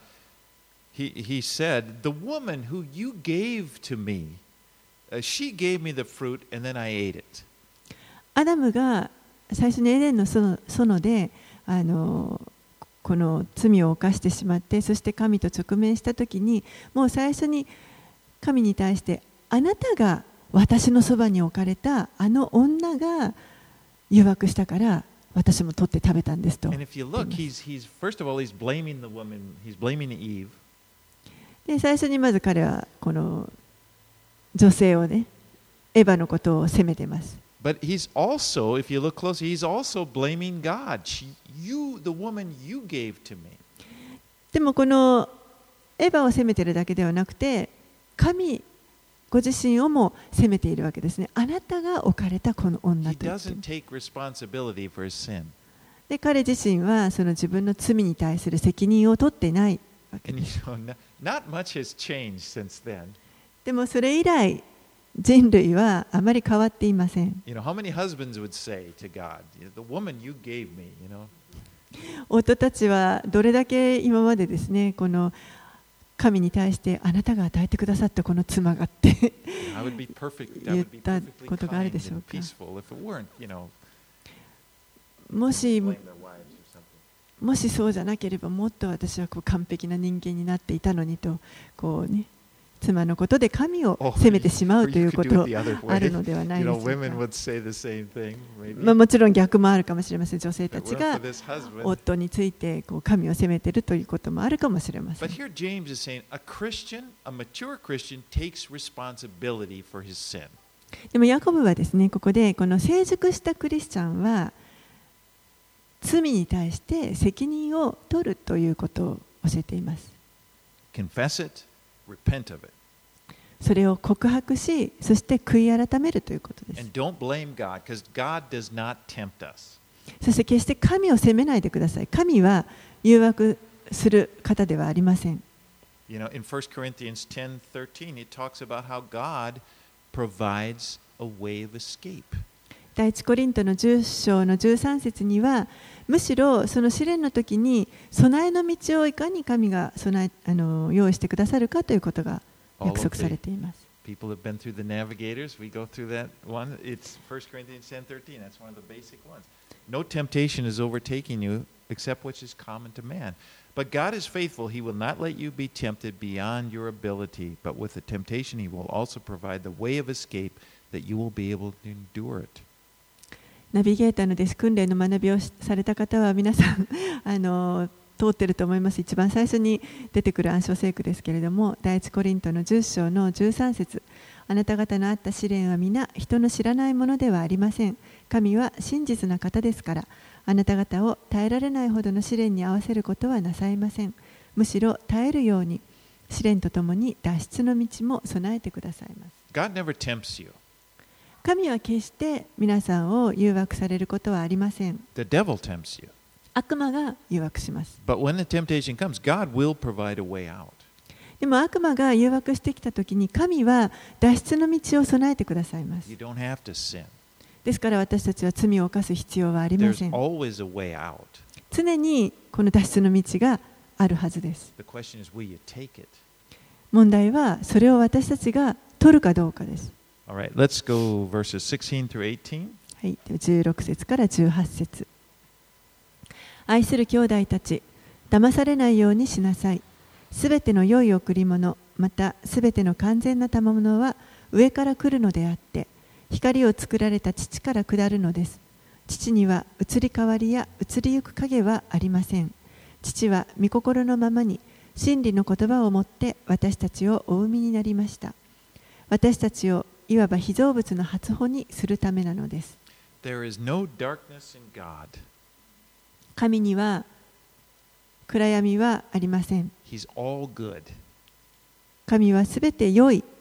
he said, "The woman who you gave to me, she gave me the fruit and then I ate it." アダムが最初にエデンの園でこの罪を犯してしまって、そして神と直面したときに、もう最初に神に対して、あなたが私のそばに置かれたあの女が誘惑したから私も取って食べたんですと。 And if you look, first of all, he's blaming the woman, he's blaming Eve. で、最初にまず彼はこの女性をね、エヴァのことを責めています。 But he's also, if you look closely, he's also blaming God. The woman you gave to me. でもこのエヴァを責めているだけではなくて、神ご自身をも責めているわけですね。あなたが置かれたこの女と言って。 He doesn't take responsibility for his sin. で、彼自身はその自分の罪に対する責任を取っていないわけ And です。 not much has changed since then. でもそれ以来、人類はあまり変わっていません。 You know, how many husbands would say to God, "The woman you gave me," you know? 夫たちはどれだけ今までですね、この神に対してあなたが与えてくださったこの妻がって言ったことがあるでしょうか。もしそうじゃなければもっと私は完璧な人間になっていたのにと妻のことで神を責めてしまうということあるのではないでしょうか。もちろん逆もあるかもしれません。女性たちが夫について神を責めているということもあるかもしれません。でもヤコブはですね、ここでこの成熟したクリスチャンは罪に対して責任を取るということを教えています。 Confess it. Repent of it. それを告白し、そして悔い改めるということです。 And don't blame God, because God does not tempt us. そして決して神を責めないでください。神は誘惑する方ではありません。 You know, in 1 Corinthians 10:13, it talks about how God provides a way of escape. 第一コリントの10章の13節には、むしろその試練の時に備えの道をいかに神が用意してくださるかということが約束されています。 People have been through the Navigators. We go through that one. It's 1 Corinthians 10:13. That's one of the basic ones. No temptation is overtaking you except which is common to man. But God is faithful. He will not let you be tempted beyond your ability. But with the temptation, He will also provide the way of escape that you will be able to endure it. ナビゲーターの弟子訓練の学びをされた方は皆さん通っていると思います。一番最初に出てくる暗唱聖句ですけれども、第一コリントの10章の13節、あなた方のあった試練は皆人の知らないものではありません。神は真実な方ですから、あなた方を耐えられないほどの試練に合わせることはなさいません。むしろ耐えるように試練とともに脱出の道も備えてくださいます。 God never tempts you. 神は決して皆さんを誘惑されることはありません。 The devil tempts you. 悪魔が誘惑します。 But when the temptation comes, God will provide a way out. でも悪魔が誘惑してきたときに神は脱出の道を備えてくださいます。 You don't have to sin. ですから私たちは罪を犯す必要はありませ There's ん。 always a way out. 常にこの脱出の道があるはずです。 The question is, will you take it? 問題はそれを私たちが取るかどうかです。 All right, let's go verses 16 through 18. はい、16節から18節。愛する兄弟たち、騙されないようにしなさい。すべての良い贈り物、またすべての完全な賜物は上から来るのであって、光を作られた父から下るのです。父には移り変わりや移りゆく影はありません。父は御心のままに真理の言葉をもって私たちをお生みになりました。私たちをいわば被造物の初歩にするためなのです。 There is no darkness in God. 神には暗闇はありません。 He's all good. 神はすべて良い。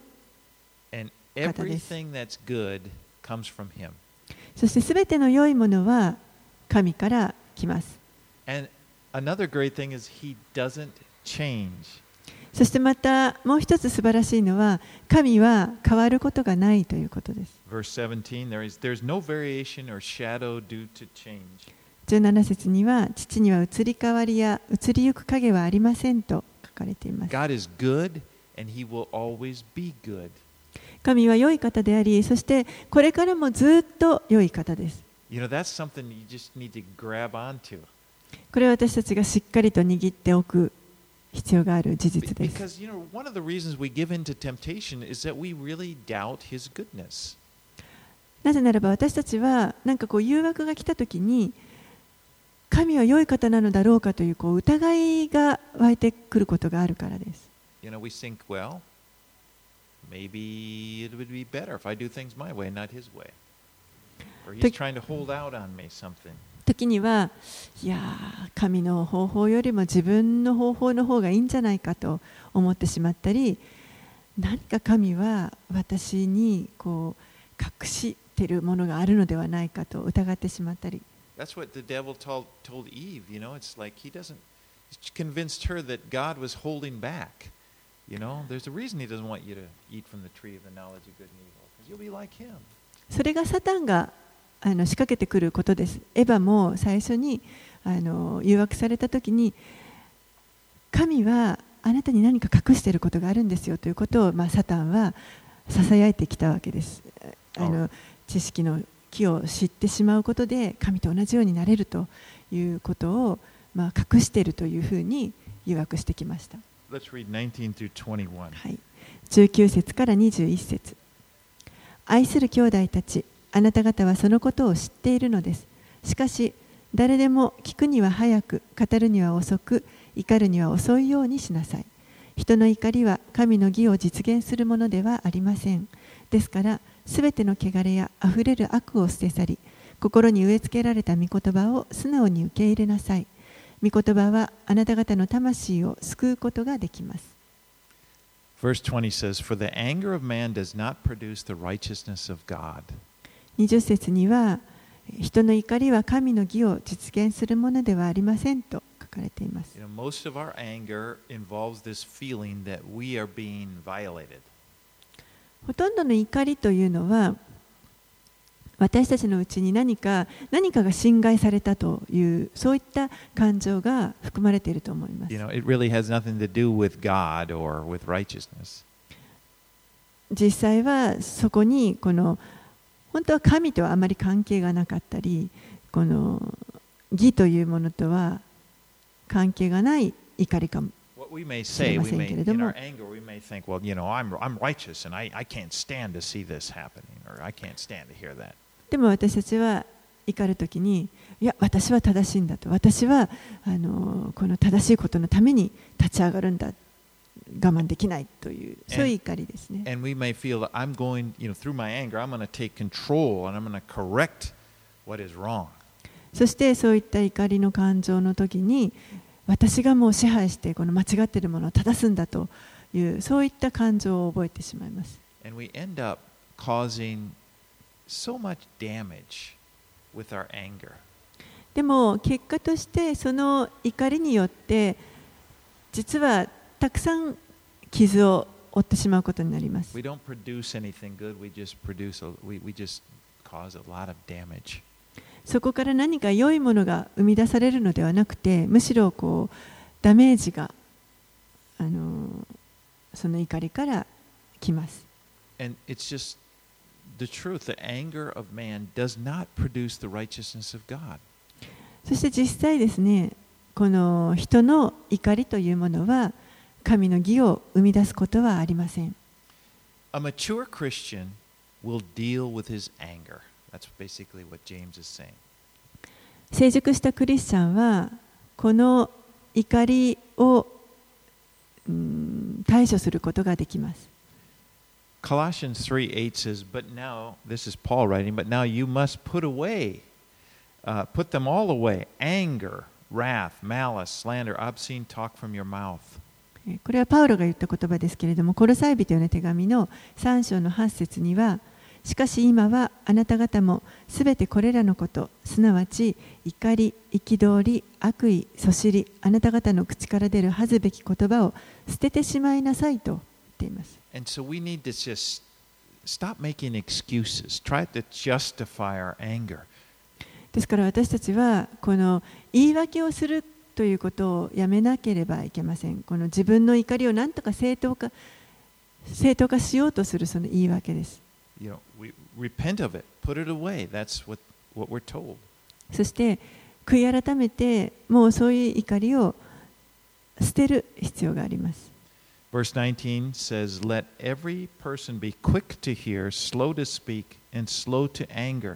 And everything that's good comes from Him. そしてすべての良いものは神から来ます。 And another great thing is He doesn't change. そしてまたもう一つ素晴らしいのは神は変わることがないということです。 Verse 17, there's no variation or shadow due to change. 17節には父には移り変わりや移りゆく影はありませんと書かれています。 God is good and He will always be good. 神は良い方であり、そしてこれからもずっと良い方です。 You know, that's something you just need to grab onto. これは私たちがしっかりと握っておく必要がある事実です。 Because, you know, one of the reasons we give in to temptation is that we really doubt His goodness. なぜならば私たちはなんか誘惑が来たときに神は良い方なのだろうかという疑いが湧いてくることがあるからです。 You know, we think, well, maybe it would be better if I do things my way, not His way. Or He's trying to hold out on me something. 時には、いや神の方法よりも自分の方法の方がいいんじゃないかと思ってしまったり、何か神は私に隠しているものがあるのではないかと疑ってしまったり。 That's what the devil told Eve, you know, it's like he convinced her that God was holding back. You know, there's a reason He doesn't want you to eat from the tree of the knowledge of good and evil, because you'll be like Him. それがサタンが仕掛けてくることです。エヴァも最初に誘惑されたときに、神はあなたに何か隠していることがあるんですよということを、サタンはささやいてきたわけです。知識の木を知ってしまうことで神と同じようになれるということを、隠しているというふうに誘惑してきました。 Let's read 19 through 21. はい、19節から21節。愛する兄弟たち、あなた方はそのことを知っているのです。しかし誰でも聞くには早く、語るには遅く、怒るには遅いようにしなさい。人の怒りは神の義を実現するものではありません。ですからすべての汚れやあふれる悪を捨て去り、心に植え付けられた御言葉を素直に受け入れなさい。御言葉はあなた方の魂を救うことができます。 Verse 20 says, For the anger of man does not produce the righteousness of God. 20節には、人の怒りは神の義を実現するものではありませんと書かかれています。 Most of our anger involves this feeling that we are being violated. ほとんどの怒りというのは、私たちのうちに何かが侵害されたという、そういった感情が含まれていると思います。 It really has nothing to do with God or with righteousness. 実際はそこに本当は神とはあまり関係がなかったり、この義というものとは関係がない怒りかもしれませんけれども、でも私たちは怒るときに、いや、私は正しいんだと、私はこの正しいことのために立ち上がるんだ、我慢できないという、そういう怒りですね。 And we may feel that I'm going, through my anger, I'm going to take control and I'm going to correct what is wrong. そしてそういった怒りの感情の時に、私がもう支配してこの間違っているものを正すんだという、そういった感情を覚えてしまいます。 And we end up causing so much damage with our anger. でも結果としてその怒りによって実はたくさん傷を負ってしまうことになります。 We don't produce anything good, we just cause a lot of damage. そこから何か良いものが生み出されるのではなくて、むしろダメージがその怒りから来ます。 And it's just the truth, the anger of man does not produce the righteousness of God. そして実際ですね、この人の怒りというものは神の義を生み出すことはありません。 A mature Christian will deal with his anger. That's basically what James is saying. 成熟したクリスチャンはこの怒りを対処することができます。 Colossians 3:8 says, "But now, this is Paul writing, but now you must put them all away: anger, wrath, malice, slander, obscene talk from your mouth." これはパウロが言った言葉ですけれども、コロサイ人への手紙の3章の8節には、しかし今はあなた方もすべてこれらのこと、すなわち怒り、憤り、悪意、そしり、あなた方の口から出る恥ずべき言葉を捨ててしまいなさいと言っています。 And so we need to just stop making excuses, try to justify our anger. ですから私たちはこの言い訳をするということをやめなければいけません。この自分の怒りを何とか正当化しようとするその言い訳です。 We repent of it, put it away. That's what we're told. そして悔い改めて、もうそういう怒りを捨てる必要があります。 Verse 19 says, "Let every person be quick to hear, slow to speak, and slow to anger."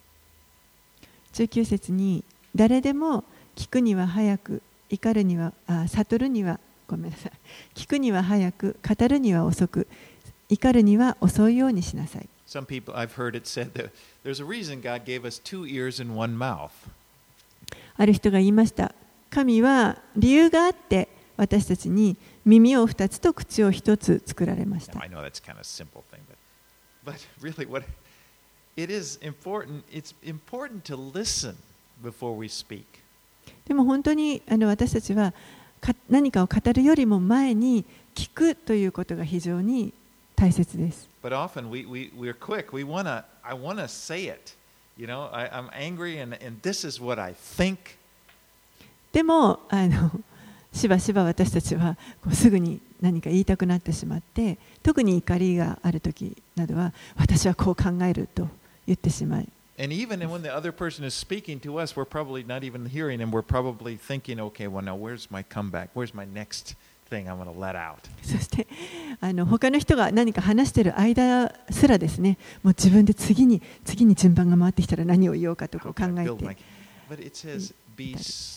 19節に、誰でも聞くには早く、悟るにはごめんなさい。聞くには早く、語るには遅く、怒るには遅いようにしなさい。 Some people, I've heard it said that there's a reason God gave us two ears and one mouth. ある人が言いました。神は理由があって私たちに耳を2つと口を1つ作られました。 I know that's kind of a simple thing, but really it is important. It's important to listen before we speak. でも本当に私たちは何かを語るよりも前に聞くということが非常に大切です。 But often we're quick. I wanna say it. I'm angry and this is what I think. でもしばしば私たちはすぐに何か言いたくなってしまって、特に怒りがあるときなどは私はこう考えると言ってしまい。 And even when the other person is speaking to us, we're probably not even hearing and we're probably thinking, okay, well now where's my comeback? Where's my next thing I'm going to let out? そして他の人が何か話している間すらですね、もう自分で次に順番が回ってきたら何を言おうかと考えて。 But it says be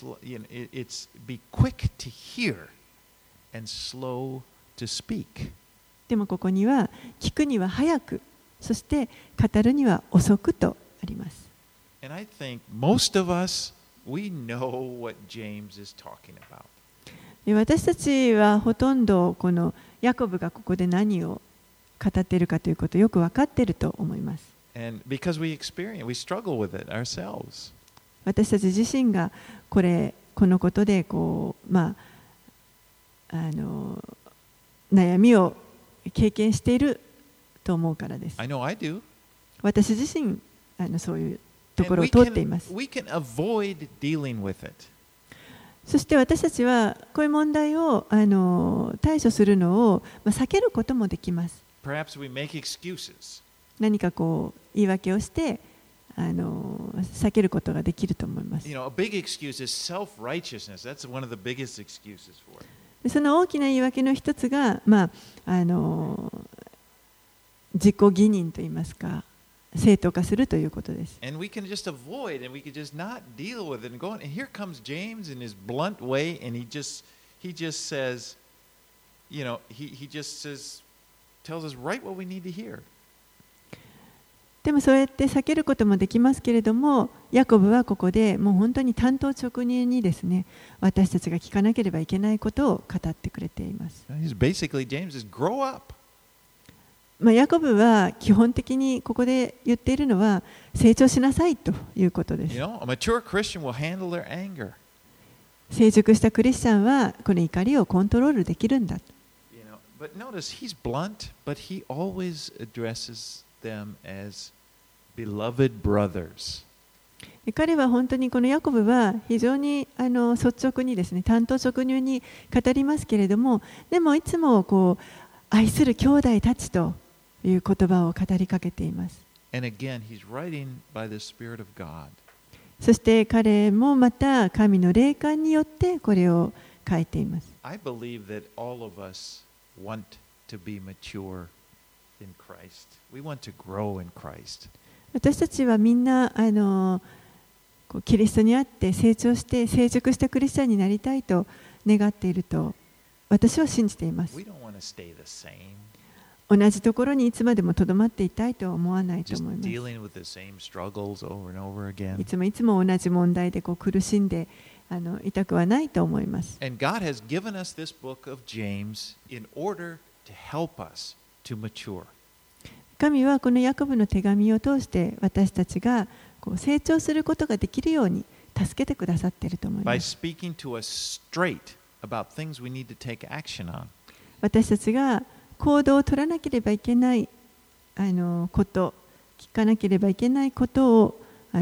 quick to hear and slow to speak. でもここには聞くには早く、そして語るには遅くとあります。 And I think most of us we know what James is talking about. 私たちはほとんどこのヤコブがここで何を語っているかということをよく分かっていると思います。 And because we struggle with it ourselves. 私たち自身がこれこのことで悩みを経験していると思うからです。 I know I do. 私自身そういうところを通っています。 We can avoid dealing with it. そして私たちはこういう問題を対処するのを避けることもできます。 Perhaps we make excuses. 何か言い訳をして避けることができると思います。 You know, a big excuse is self-righteousness. That's one of the biggest excuses for it. その大きな言い訳の一つが、自己義認といいますか、正当化するということです。 And we can just avoid and we can just not deal with it and go on. And here comes James in his blunt way, and he just says, you know, he just says, tells us right what we need to hear. でもそうやって避けることもできますけれども、ヤコブはここでもう本当に単刀直入にですね、私たちが聞かなければいけないことを語ってくれています。 Basically, James says, grow up. ヤコブは基本的にここで言っているのは成長しなさいということです。 You know, a mature Christian will handle their anger. 成熟したクリスチャンはこの怒りをコントロールできるんだ。 You know, but notice he's blunt, but he always addresses them as beloved brothers. 彼は本当にこのヤコブは非常に率直にですね、単刀直入に語りますけれども、でもいつも愛する兄弟たちという言葉を語りかけています。 And again, he's writing by the Spirit of God. そして彼もまた神の霊感によってこれを書いています。 I believe that all of us want to be mature in Christ. We want to grow in Christ. 私たちはみんなキリストにあって成長して成熟したクリスチャンになりたいと願っていると私は信じています。 We don't want to stay the same. 同じところにいつまでもとどまっていたいとは思わないと Just 思います。 dealing with the same struggles over and over い again. つもいつも同じ問題で苦しんでいたくはないと思います。 And God has given us this book of James in order to help us to mature. 神はこのヤコブの手紙を通して私たちが成長することができるように助けてくださっていると思い By ます。 speaking to us straight about things we need to take action on. 私たちが行動を取らなければいけないこと、聞かなければいけないことを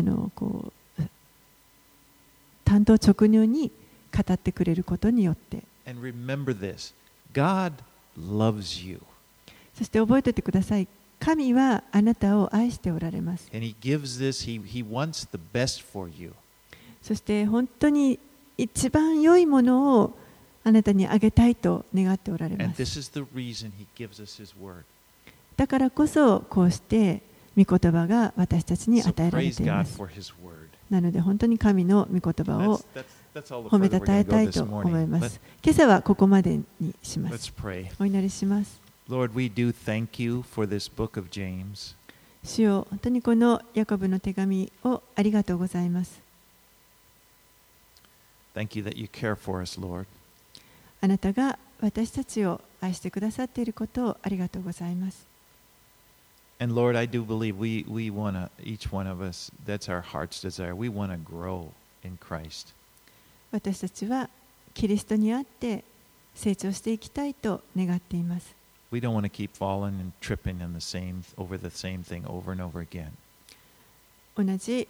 単刀直入に語ってくれることによって、 And remember this, God loves you. そして覚えておいてください。神はあなたを愛しておられます。 And He gives this, He wants the best for you. そして本当に一番良いものをあなたにあげたいと願っておられ And ます。 this is the reason He gives us His word. だからこそこうして御言葉が私たちに So 与えられ praise ていま God す。 for His word. なので本当に神の御言葉を That's all the 褒め further た we're たえ going to た go い this と思い morning. ます。今朝はここまでにしま Let's す。 pray. お祈りします。 Lord, we do thank you for this book of James. 主よ、本当にこのヤコブの手紙をありがとうございます。 Thank you that you care for us, Lord. あなたが私たちを愛してくださっていることをありがとうございます。 And Lord, I do believe we want to, each one of us, that's our heart's desire. We want to grow in Christ. 私たちはキリストにあって成長していきたいと願っています。 We don't want to keep falling and tripping in over the same thing over and over again. 同じ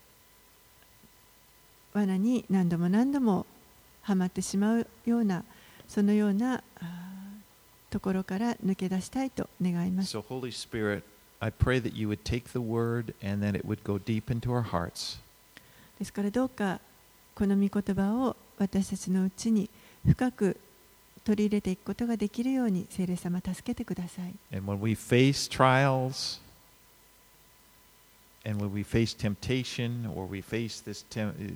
罠に何度も何度もはまってしまうようなそのようなところから抜け出したいと願います。 So Holy Spirit, I pray that you would take the word and that it would go deep into our hearts. ですからどうかこの御言葉を私たちのうちに深く取り入れていくことができるように聖霊様助けてください。 And when we face trials, and when we face temptation, or we face this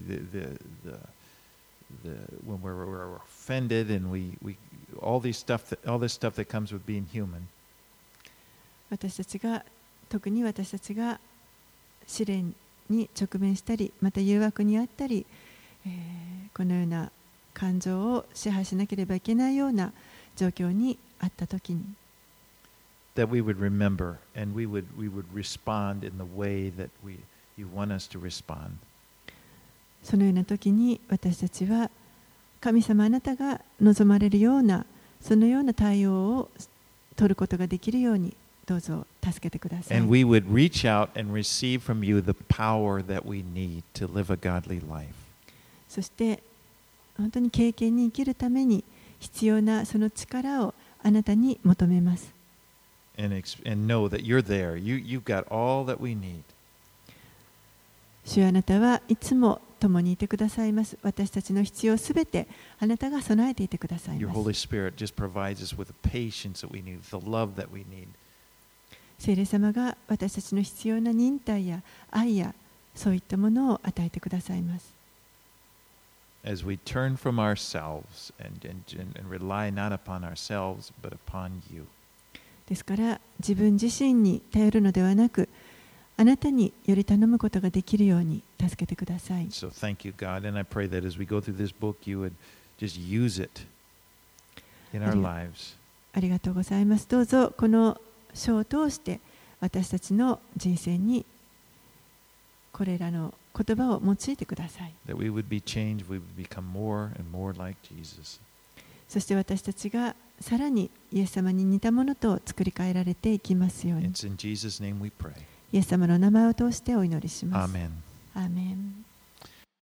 when we're offended, and all this stuff that comes with being human. 私たちが特に私たちが試練に直面したりまた誘惑にあったり、このような感情を支配しなければいけないような状況にあったときに that we would remember and we would respond in the way that you want us to respond. そのような時に私たちは神様あなたが望まれるようなそのような対応を取ることができるようにどうぞ助けてください。 And we would reach out and receive from you the power that we need to live a godly life. そして本当に経験に生きるために必要なその力をあなたに求めます。 And know that you're there. You've got all that we need. 主よあなたはいつも共にいてくださいます。私たちの必要すべてあなたが備えていてください Your ます。 Holy Spirit just provides us with the patience that we need, the love that we need. 聖霊様が私たちの必要な忍耐や愛やそういったものを与えてくださいます。 As we turn from ourselves and rely not upon ourselves, but upon you. ですから自分自身に頼るのではなくあなたにより頼むことができるように助けてください。 So thank you, God. And I pray that as we go through this book, you would just use it in our lives. ありがとうございます。どうぞこの書を通して私たちの人生にこれらの言葉を用いてください。 That we would be changed, we would become more and more like Jesus. そして私たちがさらにイエス様に似たものと作り変えられていきますように。 It's in Jesus' name we pray. イエス様の名前を通してお祈りします。 Amen. アーメン。